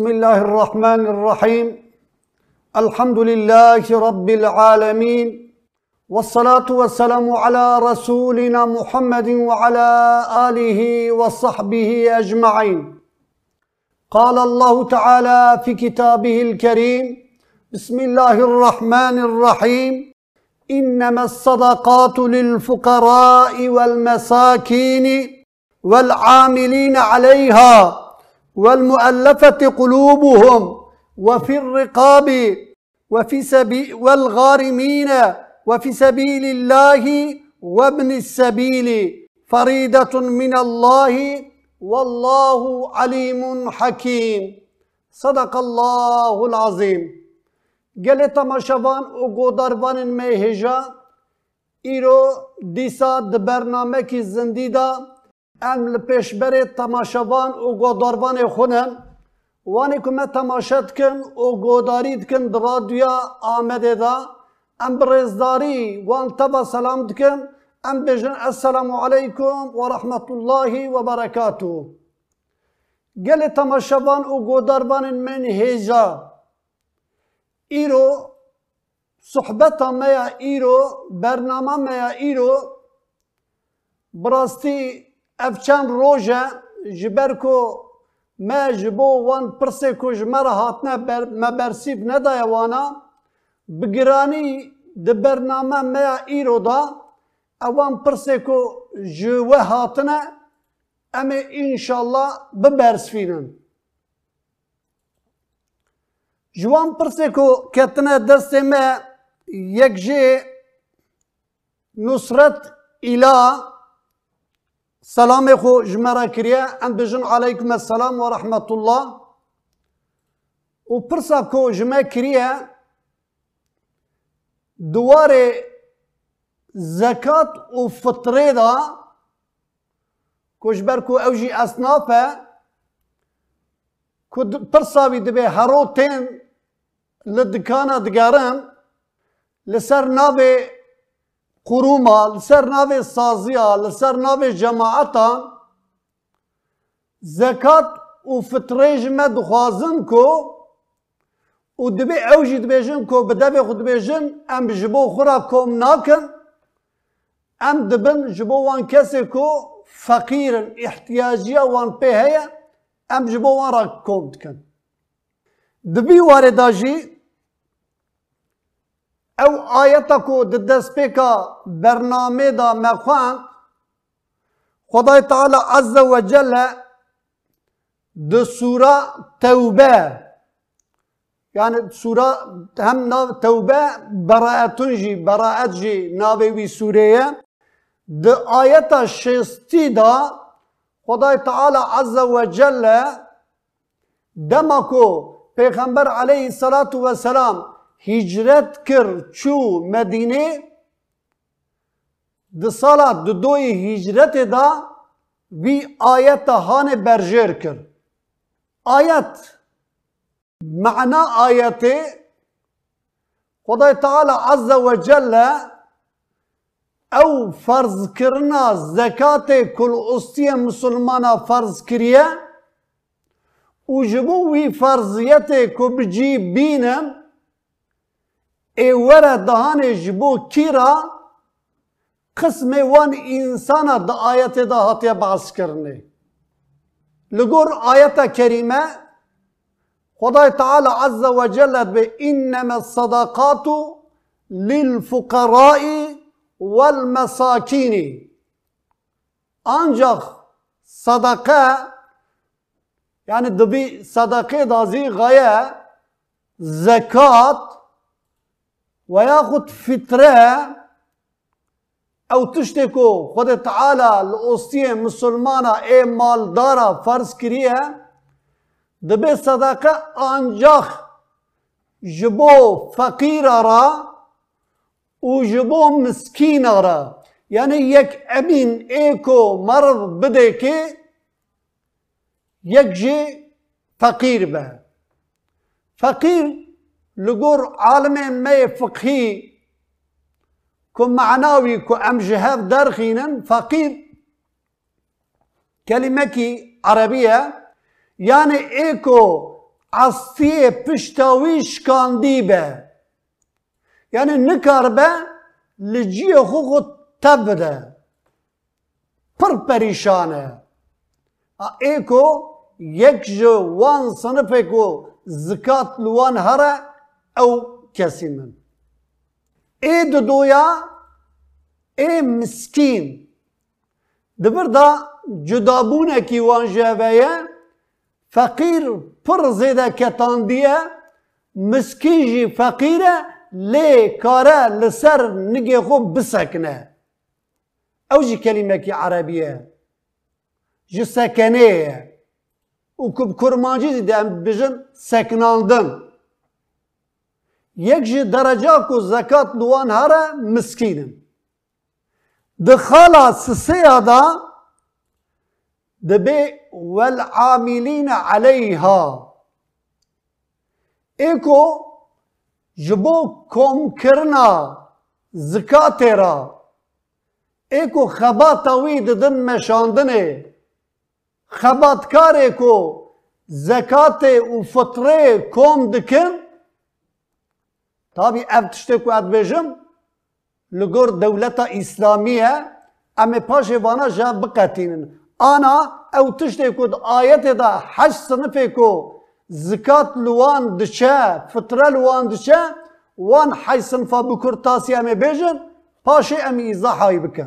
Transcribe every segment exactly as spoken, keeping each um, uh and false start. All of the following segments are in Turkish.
بسم الله الرحمن الرحيم الحمد لله رب العالمين والصلاة والسلام على رسولنا محمد وعلى آله وصحبه أجمعين. قال الله تعالى في كتابه الكريم بسم الله الرحمن الرحيم إنما الصدقات للفقراء والمساكين والعاملين عليها والمؤلفة قلوبهم وفي الرقاب وفي سبيل والغارمين وفي سبيل الله وابن السبيل فريدة من الله والله عليم حكيم. صدق الله العظيم. قال تماشوان و قدربان مهجا ایرو دیسا د برنامه کی زندیدا ام لپیشبر تماشوان و قدربان خونن وانی کمه تماشت کن و قدارید کن در رادیو آمده دا ام برزداری وان تبا سلام کن ام بجن السلام علیکم و رحمت الله و برکاته. قال تماشوان و قدربان من هجا ایرو صحبت میا ایرو برنامه میا ایرو براستی افچان روژه جبر کو ما جبو وان پرسه کو جمره هاتنه بر مبرسیب ندای وانا بگرانی ده برنامه میا ایرو دا اوان پرسه کو جوه هاتنه اما انشالله ببرسفینن. جوان پرسه کو کتنه دست ما یک جه نصرت اله سلام خو جمره کریه ام بجن علیکم السلام و رحمت الله و پرسه کو جمه کریه دواره زکات و فطره دا کجبر کو اوجی اصنافه که پرسه بی دبه هرو تین لدکانه دگرن لسر ناوی قروما لسر ناوی سازیا لسر ناوی جماعتا زکات و فطره جمع دخوازن کو و دبی اوجی دبیجن کو بدبی خود دبیجن ام جبو خورا کوم ناکن ام دبن جبو وان کسی کو فقیرن احتیاجیا وان پی هیا ام جبو وان را کوم دکن. دبی وارداجی او آیتا کو دست پیکا برنامه دا مخوان خدای تعالی عز و جل ده سوره توبه یعنی سوره هم ناو توبه براعتون جی براعت جی ناوی وی سوره ده آیتا شستی دا خدای تعالی عز و جل دمکو پیغمبر علیه الصلاة والسلام هجرت کر چو مدینه ده سالا دو دوی هجرت دا وی آیت هان برجر کر. آیت معنی آیت خدای تعالی عز و جل او فرض کرنا زکات کل استی مسلمان فرض کریه و جبو وی فرضیت کو بجی بینم ای وره دهان جبو کیرا قسم وان انسان دا آیت دا هاتیا بحث کرنه. لگور آیت کریمه خدای تعالی عز و جل به انما الصدقات للفقراء والمساکین ancak sadaka yani dbi sadaka dazi gaye zekat وياخد فترة او تشتكو خد تعالى الأوستية مسلمانة اي مال دارا فرض كريه دبي صدقة انجاخ جبو فقير را و جبو مسكين را يعني يك امين ايكو مرض بده كي يك جي فقير به فقير لقور عالم ما فقهي كو معناوي كو ام جهاف درخينا فقير كلمة عربية يعني ايكو عصیه پشتاوی شکاندی به یعنی نکار به لجی خو خود تبده پر پریشانه ایکو یک جو وان صنفه کو زکات لوان هره او کسی من ای دو دویا ای مسکین دبر دا جدابونه کی وان جوه فقیر پر زیده کتاندیه مسکین جی فقیره لی کاره لسر نگه خوب بسکنه او جی کلمه کی عربیه جی سکنه و کب کرمانجی زیده بجن سکناندن یک جی درجه کو زکات لوان هره مسکینن دخالا سسیه دا دبي والعاملين عليها ايكو جبو كوم كرنا زكاة را ايكو خبات ويد دن مشاندنه خبات كاريكو زكاة و فطره كوم دكن تابي ابتشتكو ادبجم لغور دولة اسلامية اما پاشه وانا جا بقاتينن آنا او تشتی کد آیت دا حج صنفه کو زکات لوان دچه فطره لوان دچه وان حج صنفه بکر تاسی امی بیجن پاشه امی ایزاحایی بکن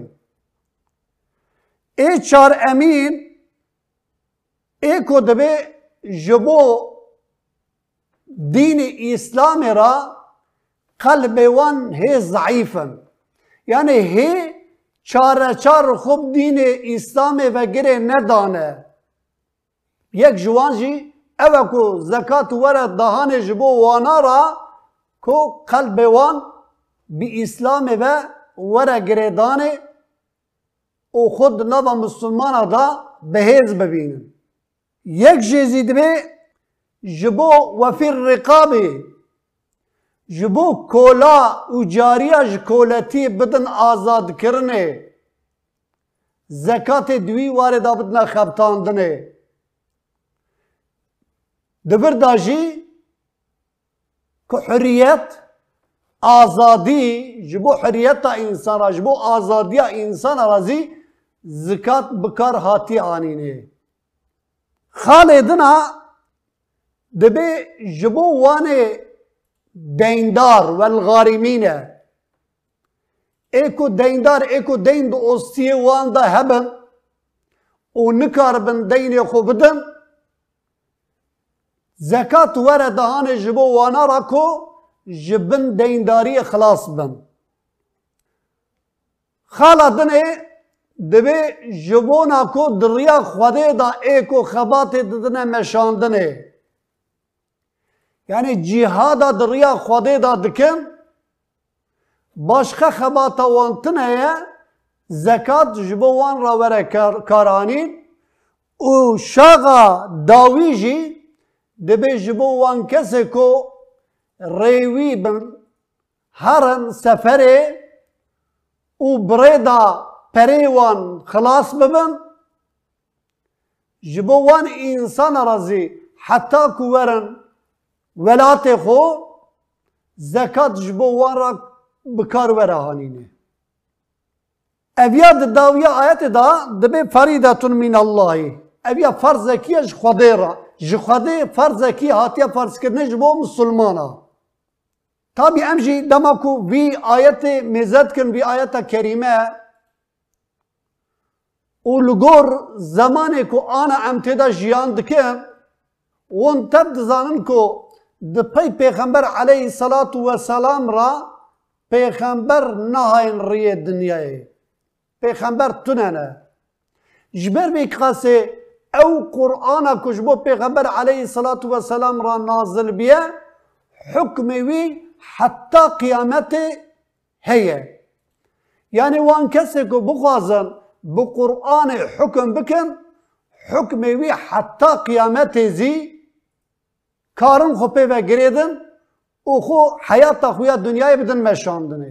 ای چار امین ای کو دبه جبو دین اسلام را قلب وان هی ضعیفن یعنی هی چاره چار خوب دین اسلام و گره ندانه یک جوان جی اوه کو زکات وره دهان جبو وانا را کو قلب وان بی اسلام و وره گره دانه او خود نوا مسلمان دا بهز ببینن یک جزید به جبو وفی الرقابه جبو کولا و جاریه جکولتی بدن آزاد کرنه زکات دوی وارد بدن خبتاندنه دبر داجی که حریت آزادی جبو حریت انسان را جبو آزادی انسان رازی زکات بکار هاتی آنینه خالدنا دبی جبو وانه دیندار والغارمینه ایکو دیندار ایکو دین دو استیه وان دا هبن و نکار بن دین خو بدن زکات وره دهان جبو وانا را کو جبن دینداری خلاص بن خالا دنه دبی جبونا کو دریا خوده دا ایکو خبات ددنه مشاندنه yani cihada dırıya khode da dikin başka xebata wan tineye zekat ji bo wan ra were karanîn û şaxa dawî jî dibe ji bo wan kesê ku rêwî bin herin seferê û birê da perê wan xilas bibin ji bo wan însan razî heta ku werin velatê xwe zekat ji bo wan ra bikar were hanîne. Eviya di dawiya ayetê da dibe ferîdetun minallahî. Eviya ferzekî ji Xwedê ra. Ji Xwedê ferzekî hatiye ferzkirinê ji bo musulmana. Tabi em jî dema ku vî ayetê mêze dikin vî ayeta kerîme û li gor zamanê ku ana em têda jiyan dikin wan tev dizanin ku di pey Pêxember aleyhissalatu vesselam ra Pêxember nahayên rêyê dinyayê. Pêxember tunene. Ji ber vê qasê ew Qur'ana ku ji bo Pêxember aleyhissalatu vesselam ra nazil biye hukmê wî heta qîyametê heye. Yani wan kesê ku bixwazin bi Qur'anê hukm bikin hukmê wî heta qîyametê zî karın xwe pê vegirêdin û xwe heyata xwe ya dunyayê bidin meşandinê.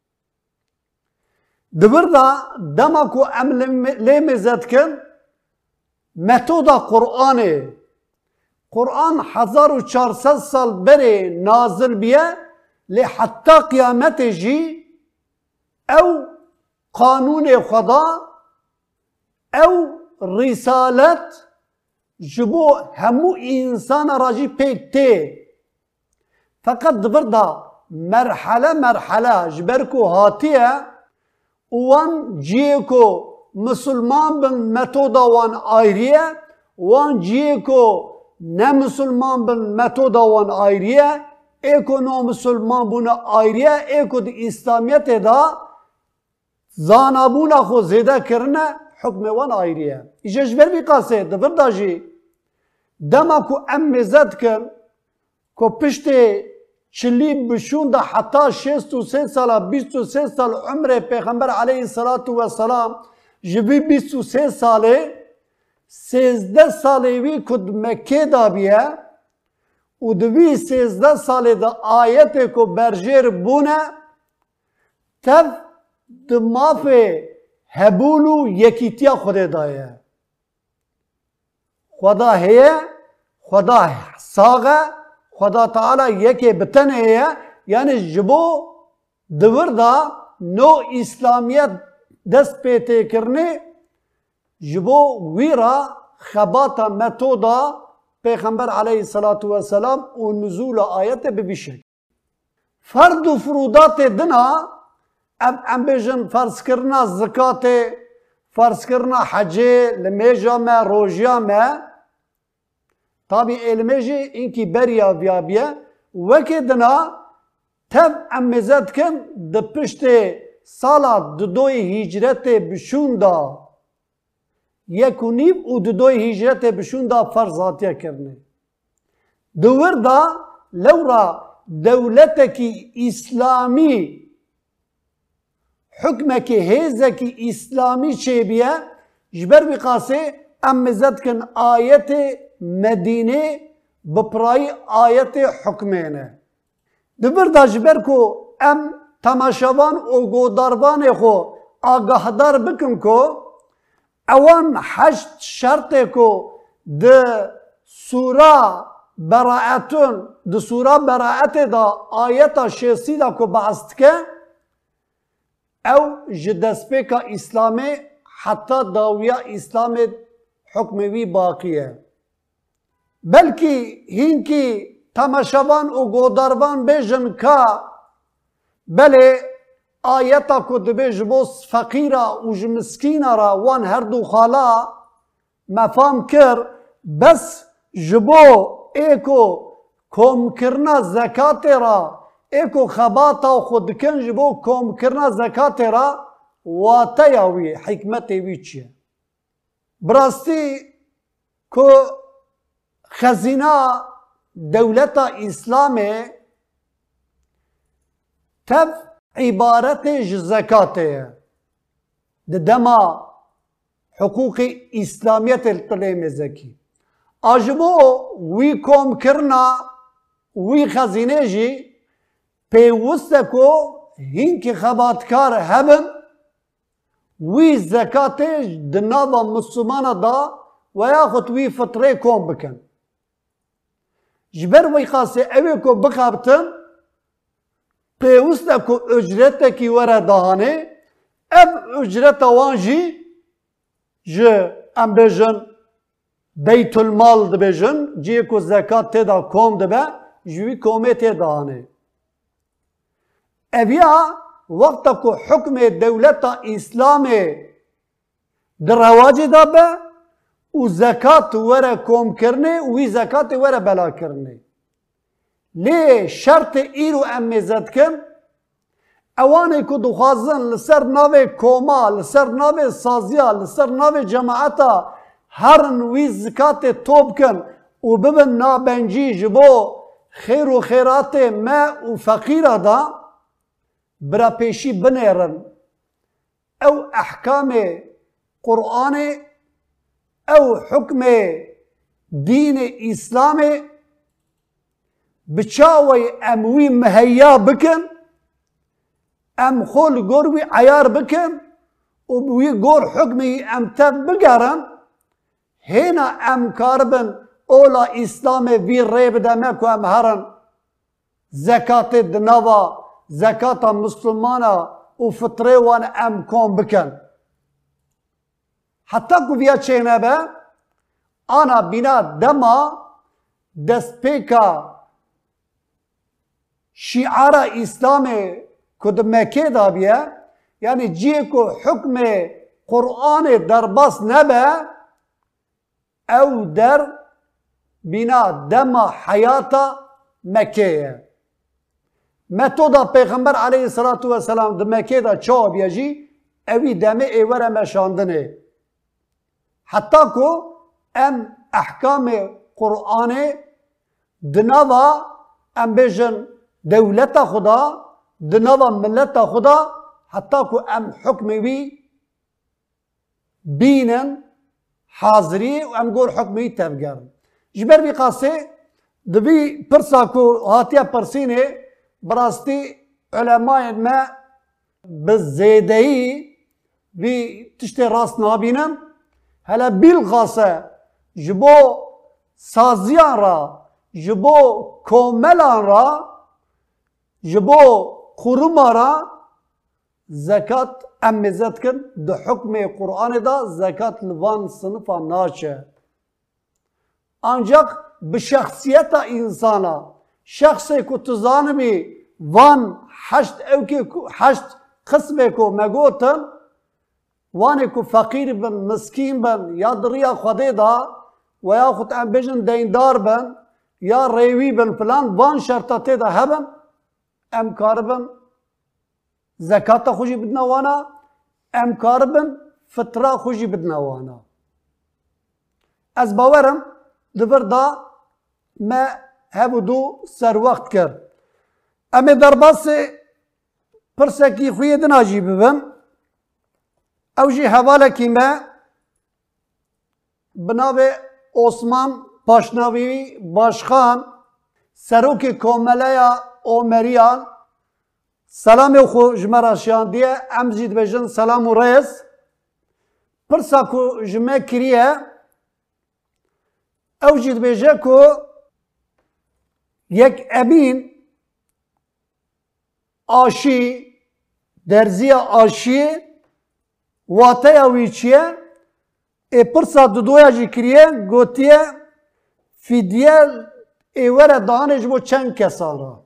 Di vir da dema ku em lê mêze dikin metoda Qur'anê Kur'an hezar û çar sed sal berê nazil biye lê heta qiyamete jî ew kanûnê xweda ew risalet ji bo hemû însana ra jî pêk tê. Feqet di vir da merhele merhele ji ber ku hatiye û wan ciyê ku Müslüman bin metoda wan ayrıye, wan ciyê ku ne Müslüman bin metoda wan ayrıye, ê ku no Müslüman bûne ayrıye, ê ku di İslamiyetê da zanabûna xwe zêde kirine hukmê wan ayrıye. Îje ji ber vî qasê di vir da jî dema ku em mêze dikin ku piştê çilî bişûn da heta şêst û sê sala bîst û sê sal umrê Pêxember aleyhissalatu vesselam ji vî bîst û sê salê sêzdeh salê wî ku di Mekkê da biye û di vî sêzdeh salê de ayetê ku berjêr bûne tev di mafê hebûl û yekîtiya Xwedê da ye. Xweda heye, Xweda sağ e, Xweda Teala yekê bi tenê ye, yani ji bo di vir da no İslamiyet dest pê têkirinê ji bo wî ra xebata metoda Pêxember aleyhissalatu vesselam û nuzûla ayetê bi vî şekil. Ferd û furudatê dina em em bêjin ferzkirina zikatê, ferzkirina hecê li mêja me, rojiya me, tabi êlimê jî înkî beriya viya biye, wekê dina tev em mêze dikin di piştê sala dudoyê hîcretê bişûn da yek û nîv û dudoyê hîcretê bişûn da ferz hatiye kirinê. Di wir da lewra dewletekî İslamî hukmekî hêzekî İslamî çêbiye ji ber vî qasê em mêze dikin ayetê Medînê bi pirayî ayetê hukmê ne. Di vir da ji ber ku em temaşevan û godarvanê xwe agahdar bikin ku ewan heşt şertê ku di Sûra Beraetun di Sûra Beraetê da ayeta şêstî da ku behs dike ew ji destpêka İslamê heta dawiya İslamê hukmê wî baqî ye. Belkî hînkî temaşevan û godarvan bêjin ka belê ayeta ku dibe ji bo feqîra û ji miskîna ra wan her du xala mefam kir bes ji bo ê ku komkirina zekatê ra ê ku xebata xwe dikin ji bo komkirina zekatê ra wateya wî hikmetê wî çi ye? Bi rastî ku xezîna dewleta İslamê tev ibaretê ji zekatê ye. Di dema hukûqê İslamiyetê li tilê mêzekî. A ji bo wî komkirina wî xezînê jî pêwîst e ku hînkî xebatkar hebin wî zekatê di nava Müslümana da ve yaxud wî fitrê kom bikin. Ji ber vî qasê ew ê ku bixebtin pêwîst e ku ücretekî were dahanê, ev ücreta wan jî ji em bêjin beytulmal dibêjin, ciyê ku zekat têda kom dibe ji wî komê tê dahanê. Ev ya wexta ku hukmê dewleta İslamê di rewacê da be û zekat were komkirinê û wî zekatê were belakirinê. Lê şertê îro em mêze dikin ewanê ku dixwazin li ser navê koma, li ser navê saziya, li ser navê cemaeta herin wî zikatê to bikin û bibin nabencî ji bo xêr û xêratê me û feqîra da birapêşî binêrin. Ew ehkamê Qur'anê, ew hukmê dînê İslamê bi çawê em wî miheyya bikin, em xwe li gor wî eyar bikin û bi wî gor hukmê em tev bigerin, hêna em karibin اولا اسلام وی ریب دمه که ام هرن زکات دنوا زکات مسلمانا و فطره وان ام کن بکن حتی که بیا چینه به آنا بنا دما دست پیکا شعار اسلام کد مکه دا بیه یعنی جیه که حکم قرآن در بس نبه او در بنا دما حیاتا مکه متودا پیغمبر علیه الصلاة والسلام در مکه دا چا بیجی اوی دمه ایوره مشاندنه حتی که ام احکام قرآن دنوا ام بیجن دولت خدا دنوا ملت خدا حتی که ام حکمی وی بینن حاضری و ام گور حکمی تفگرن جبر بی قاسه دبی پرسا کو هاتیا پرسینه براستی علماء ما بزیدهی بی تشتی راست نابینن هلا بالغاسه جبو سازیان را جبو کوملان را جبو خروما را زکات امزت کن ده حکم قرآن دا زکات لوان صنفا ناچه ancak به شخصیت انسانا شخصی که تزانمی وان هشت اوکی هشت قسمه که مگوتن وانی که فقیر بن مسکین بن یا دریا خودی دا و یا خود ام بجن دیندار بن یا ریوی بن فلان وان شرطاتی دا هبن ام کار بن زکات خوشی بدنا وانا ام کار بن فطره خوشی بدنا وانا از باورم دبر دا ما هبودو سر وقت کرد اما در باس پرسکی خوی دناجی ببن او جی حواله کی ما بناو عثمان پاشناوی باشخان سروک کوملیا اومریان سلام خو جمراشیان دیه امزید بجن سلام و رئیس پرساکو جمع کریه او جید بیجه که یک ابین آشی درزی آشی واته اوی چیه ای پرسا دو دویا جی کریه گوتیه فیدیه ایوره دانش بو چند کسان را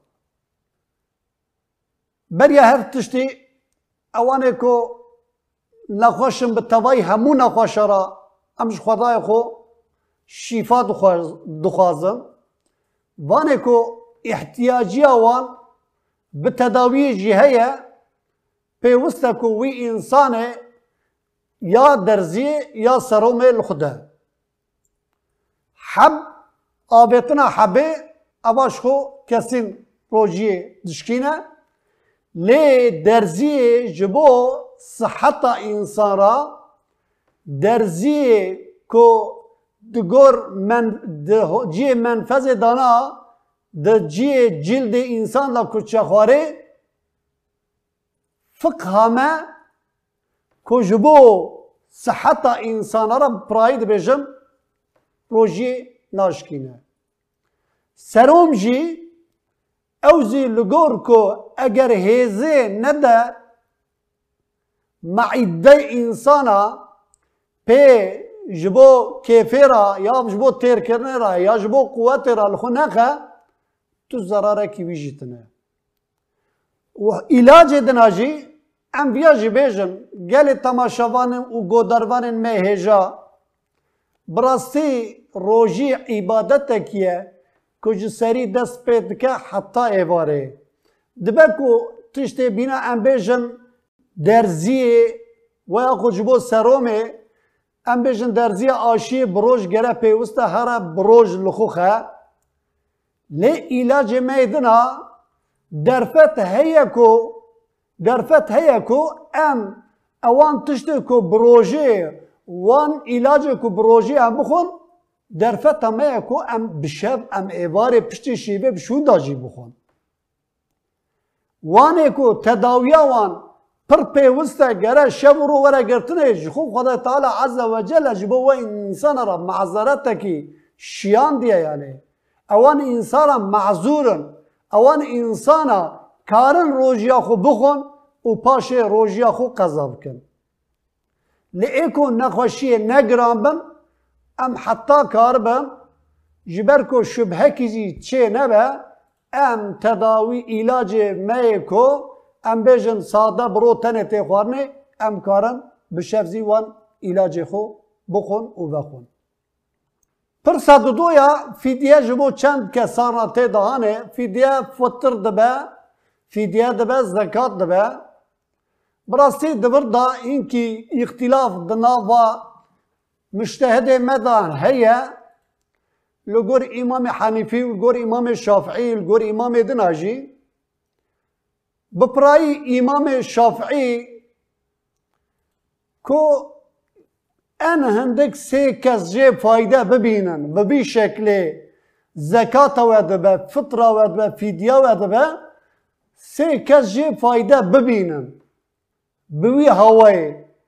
بریا هر تشتی اوانه که نخوشم به توای همون نخوش را امش خدای خو شفا دخوازم وانه که احتیاجی آوان به تداوی جهه پیوسته که وی انسان یا درزی یا سروم الخده حب آبتنا حبه اواش خو کسین روجی دشکینه لی درزی جبو صحت انسان را درزی که دگور من جی منفذ دانا د جی جلد انسان لا کچه خواره فقه همه که جبو صحت انسان را پراید بجم روژی ناشکینه سروم جی اوزی لگور که اگر هیزه نده معده انسانا پی جبو کیفی را یا جبو تیر کرنه را یا جبو قوت را لخو نخه تو ضراره کی ویجیتنه و علاج دناجی ام بیاجی بیجن گل تماشاوان و گودروان مهجا براستی روژی عبادت کیه کج سری دست پید که حتی ایواره دبه کو تشتی بینا ام بیجن درزی و یا خجبو سرومه ام بیجن درزی آشی بروش گره پیوسته هر بروش لخوخه لی علاج میدنا درفت هیا کو درفت هیا کو ام اوان تشتی کو بروژه وان علاج کو بروژه ام بخون درفت همه کو ام بشب ام ایواره پشتی شیبه بشون داجی بخون وانه کو تداویا وان پر پیوسته گره شب رو وره گرتنه خب خدا تعالی عز و جل جبو و انسان را معذرت کی شیان دیه یعنی اوان انسانا معذورن اوان انسانا کارن روژیا خو بخون و پاش روژیا خو قضا بکن لئیکو نخوشی نگران بن ام حتی کار بن جبر کو شبهه کیزی چه نبه ام تداوی علاج میکو ام بیجن ساده برو تنه تی خوارنه ام کارن بشفزی وان علاج خو بخون و بخون پر صد دویا فیدیه جبو چند کسانا تی دهانه فیدیه فطر دبه فیدیه دبه زکات دبه براستی دبر دا اینکی اختلاف دناوا مجتهد مدان هيا لغور امام حنیفی لغور امام شافعی لغور امام دناجی بپرای امام شافعی کو ان هندک سه کس جه فایده ببینن و بی شکل زکات و دبه فطره و دبه فیدیه و دبه سه کس جه فایده ببینن بوی هوای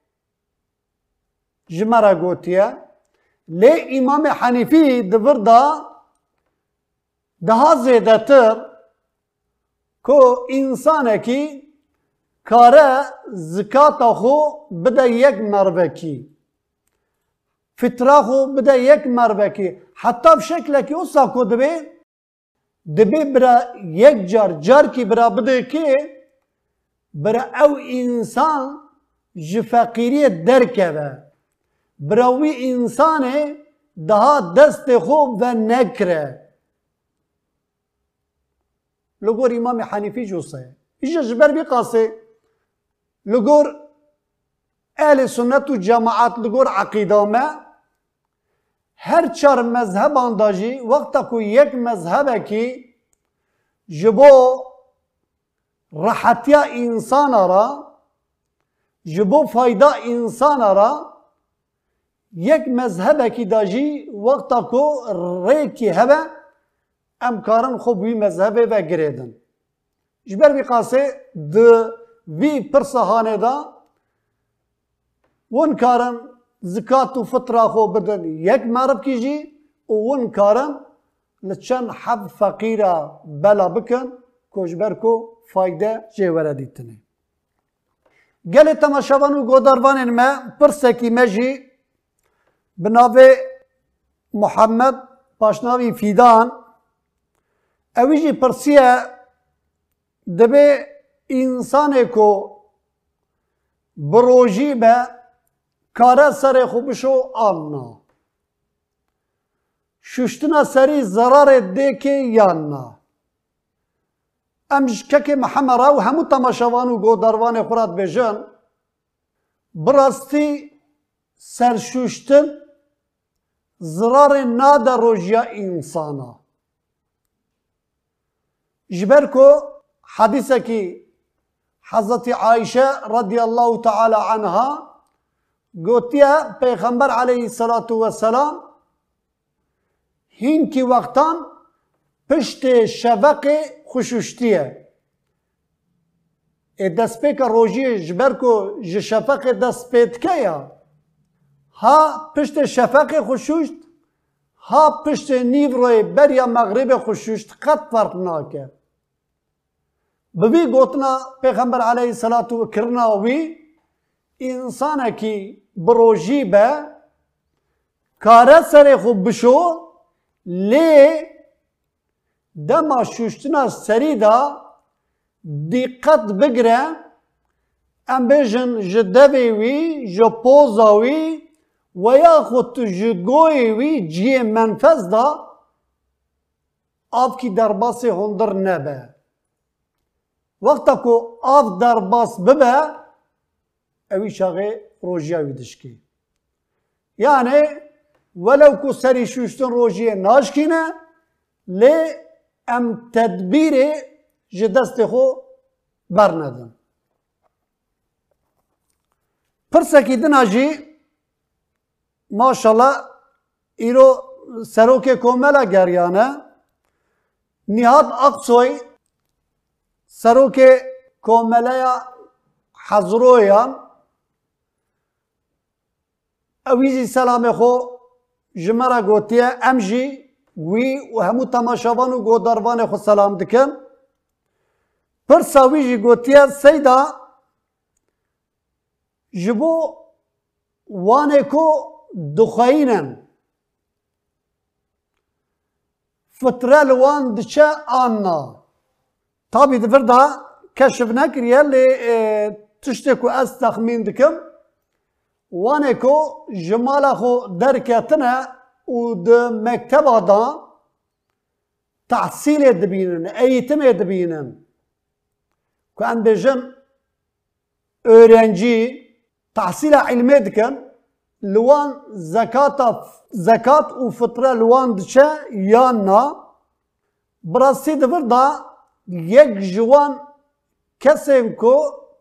جمرا گوتیه لی امام حنیفی دور دا daha زیادتر کو انسان کی کاره زکات خو بده یک مربه کی فطره خو بده یک مربه کی حتی بشکل کی اوسا کو دبی دبی برا یک جار جار کی برا بده کی برا او انسان جفقیری درکه براوی انسان daha دست خوب و نکره لگور امام حنیفی جوسه ایجا جبر بی قاسه لگور اهل سنت و جماعت لگور عقیده ما هر چار مذهب انداجی وقتا کو یک مذهبه کی جبو راحتیا انسان را جبو فایده انسان را یک مذهب کی داجی وقتا کو ریکی هبه امکارن خوب وی مذهب و گریدن جبر بی قاسه د وی پرسهانه دا ون کارن زکات و فطره خو بدن یک مرب کیجی و ون کارن لچن حب فقیره بلا بکن کو جبر کو فایده جیوره دیتنه گلی تماشاوان و گوداروان ما پرسکی مجی بناوی محمد پاشناوی فیدان اویجی پرسیه دبی انسانی کو بروجی به کاره سر خوبشو آنا ششتنا سری ضرر دیکی یانا امش که محمد راو همو تماشاوان و گوداروان خورات بجن براستی سرشوشتن ضرر ناده روژیا انسانا جبر کو حدیثه کی حضرت عایشه رضی الله تعالی عنها گوتیا پیغمبر علیه الصلاة والسلام هین کی وقتان پشت شفق خشوشتیه دست پیک روژی جبر کو شفق دست پیت که یا ها پشت شفق خشوشت ها پشت نیو روی بریا مغرب خشوشت قط فرق ناکه ببی گوتنا پیغمبر علیه الصلاة و کرنا وی انسان کی بروجی به کاره سر خوب بشو لی دما شوشتنا سری دا دقت بگره ام بیجن جدوی وی جپوزاوی و یا خود جگوی وی جی منفذ دا آب کی درباس هندر نبه وقتا کو آب درباس ببه اوی شاقه روژیاوی دشکی یعنی ولو کو سری شوشتن روژیه ناشکینه لی ام تدبیر جدست خو برندن پرسکی دناجی ماشالله ایرو سروک کوملا گریانه نهاد اقصوی سروک کوملا حضرویان اویزی سلام خو جمرا گوتیه ام جی وی و همو تماشاوان و گوداروان خود سلام دکن پرسا وی جی گوتیه سیدا جبو وانه کو دخاینن فتره لوان دچه آنا tabi دفر دا کشف نکریه لی تشتی کو از تخمین دکم وانه کو جمالا خو درکتنه و ده مکتب دا تحصیل دبینن eğitim دبینن که ان بجن öğrenci tahsil ilmi dikin لوان زکات زکات و فطره لوان دچه یا نه براسی دفر دا یک جوان کسی کو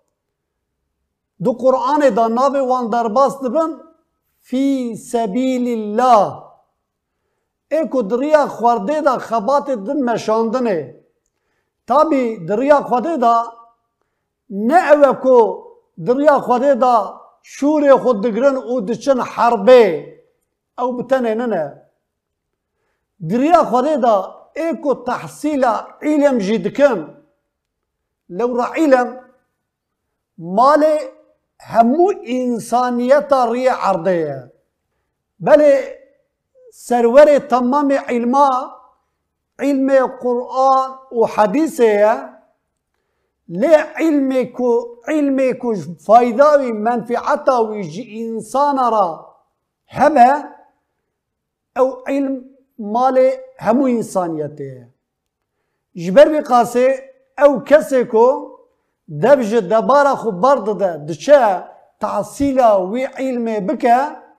دو قرآن دا ناوی وان درباس دبن فی سبیل الله ایکو دریا خورده دا خبات دن مشاندنه تابی دریا خورده دا نه اوه کو دریا خورده دا شور خود دگرن او دچن حربه او بتنه نه دریا خورده دا ایکو تحصیل علم جیدکن لو را علم مال همو انسانیت ری عرضه بله سرور تمام علما علم قرآن و حدیثه لی علمی کو علمی کو فایده و منفعتا و انسان را همه او علم مال همو انسانیته جبر بی قاسه او کسی کو دبج دبارا خو برد ده دچه تحصیلا و علم بکه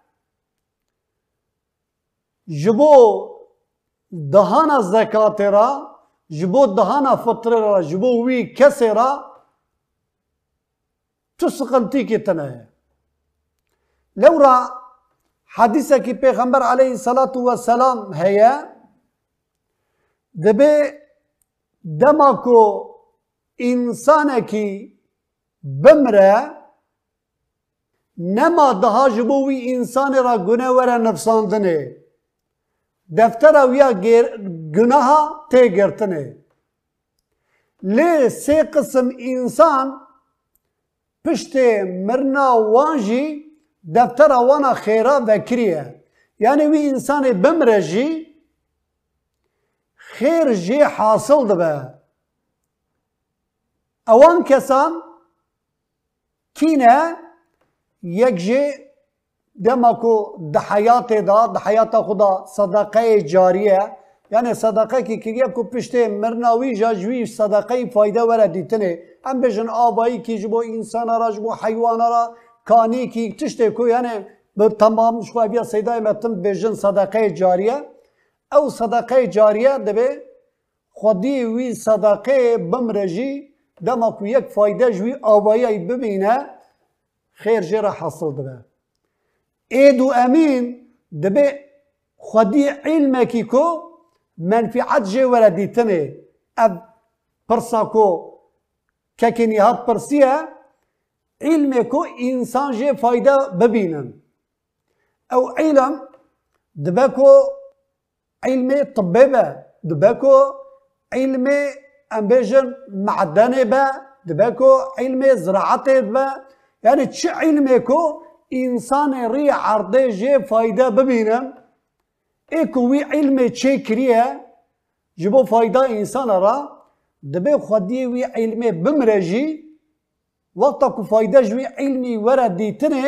جبو دهانا زکات را جبو دهانا فطر را جبو وی کسی را تو سقنتی کی تنه لورا حدیثه کی پیغمبر علیه الصلاة والسلام هیا دبی دما کو انسان کی بمره نما daha جبوی انسان را گناه وره نفساندنه دفتر اویا گناه ته گرتنه لی سه قسم انسان پشت مرنا وانجی دفتر وانا خیره وکریه یعنی وی انسان بمره جی خیر جی حاصل دبه اوان کسان کینه یک جی دمکو ده حیات دا ده حیات خدا صدقه جاریه یعنی صدقه کی کریه کو پشته مرناوی جاجوی صدقه فایده وره دیتنه هم بجن آبایی کی جبو انسان را جبو حیوان را کانی کی تشته کو یعنی به تمام شو بیا سیدای متن بجن صدقه جاریه او صدقه جاریه دبه خودی وی صدقه بمرجی دما کو یک فایده جوی آبایی ببینه خیر جرا حاصل دبه اید و امین دبه خودی علمه کی کو منفعت جه وردیتنه اب پرسا کو ککنی ها پرسیه علمه کو انسان جه فایده ببینن او علم دبه کو علم طبیبه دبه کو علم امبیجن معدنه به دبه کو علم زراعته به یعنی چه علمه کو انسان ری عرضه جه فایده ببینن ایکو وی علم چه کریه جبو فایده انسان را دبه خودی وی علم بمرجی وقتا کو فایده جوی علمی ورد دیتنه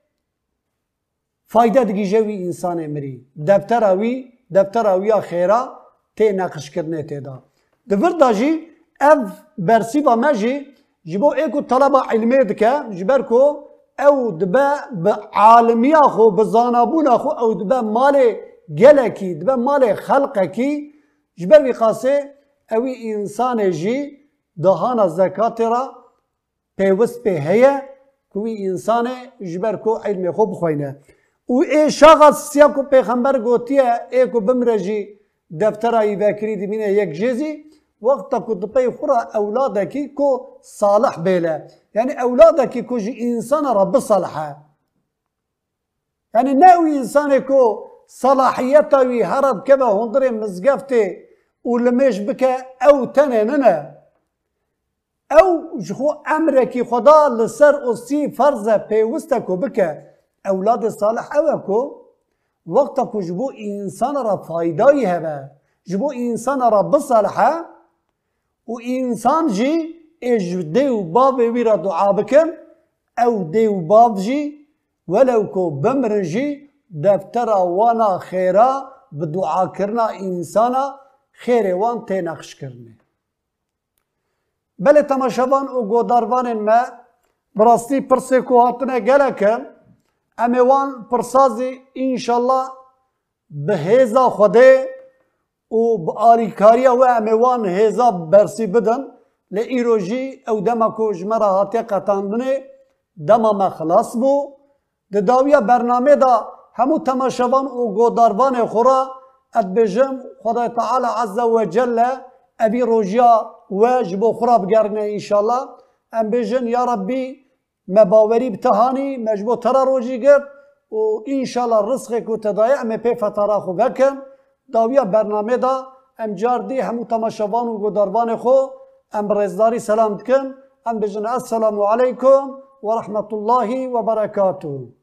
فایده دیگه جوی انسان مری دفتر اوی دفتر اویا خیره تی نقش کرنه تی دا دفر دا جی اف برسی با مجی جبو ایکو طلبه علمی دکه جبر کو او دبه به عالمی خو به زانابون خو او دبه مال گلکی دبه مال خلقکی جبر بی قاسه اوی انسان جی دهانا زکات را پیوست به هیه کوی انسان جبر کو علم خوب خوینه و ای شخص سیا کو پیغمبر گوتیه ای کو بمرجی دفتر ای بکری دبینه یک جزی وقتا کو دپی خورا اولادکی کو صالح بیله یعنی اولادکی کو جی انسان رب صالحه یعنی نه او انسان کو صلاحيته وي هرب كبه هندري مزقفته ولمش بك او تنيننا او جخو امركي خدا لسر اصي فرزه بيوستكو بك اولاد صالح اوكو وقتكو جبو انسان را فايداي هبه جبو انسان را بصالحه و انسان جي اج ديو باب ويرا دعا بكن او ديو باب جي ولو كو بمرجي دفتر وانا خيرا بدعا كرنا انسانا خير وان تنخش كرني بله تماشاوان و گوداروان ما براستی پرسه کو هاتنه گلکن امیوان پرسازی انشالله به هیزا خوده و به آریکاریا و امیوان هیزا برسی بدن لی ایروژی او دما کو جمرا هاتی قطاندنه دما مخلاص بو ده داویا برنامه دا همو تماشاوان و گوداروان خورا ادبجم خدای تعالی عز و جل ابي روجيا واجب خراب قرنا ان شاء الله ام بيجن يا ربي مباوري بتهاني مجبو ترى روجي قر وان شاء الله رزقك وتضايع ما بي فترة خو بكن داويا برنامه دا ام جاردي همو تماشاوان و گوداروان خو ام رزداري سلام دكن ام بيجن السلام عليكم ورحمة الله وبركاته.